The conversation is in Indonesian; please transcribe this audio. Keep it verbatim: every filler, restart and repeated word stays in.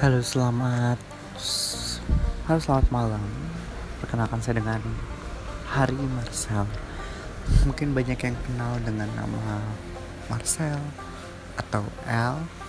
Halo, selamat Halo, selamat malam. Perkenalkan saya dengan Hari Marcel. Mungkin banyak yang kenal dengan nama Marcel atau L